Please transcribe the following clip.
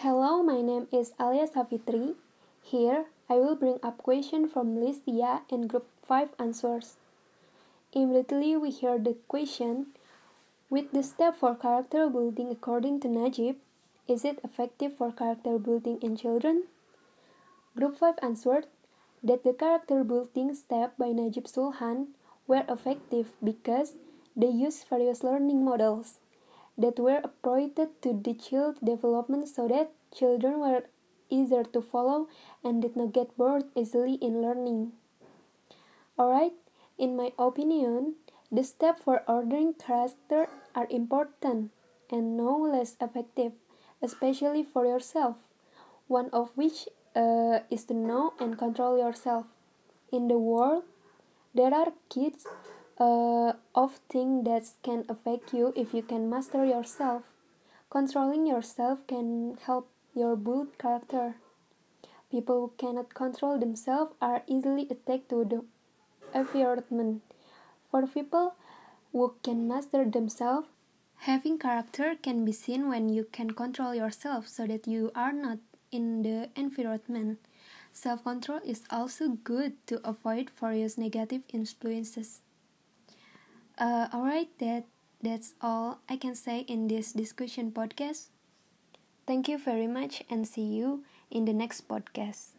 Hello, my name is Alia Savitri. Here, I will bring up question from Listia and Group 5 answers. Immediately we hear the question, with the step for character building according to Najib, is it effective for character building in children? Group 5 answered that the character building step by Najib Sulhan were effective because they used various learning models that were appropriated to the child's development so that children were easier to follow and did not get bored easily in learning. Alright, in my opinion, the steps for ordering character are important and no less effective, especially for yourself, one of which is to know and control yourself. In the world, there are kids of things that can affect you if you can master yourself. Controlling yourself can help your build character. People who cannot control themselves are easily attacked to the environment. For people who can master themselves, having character can be seen when you can control yourself so that you are not in the environment. Self-control is also good to avoid various negative influences. Alright, that's all I can say in this discussion podcast. Thank you very much and see you in the next podcast.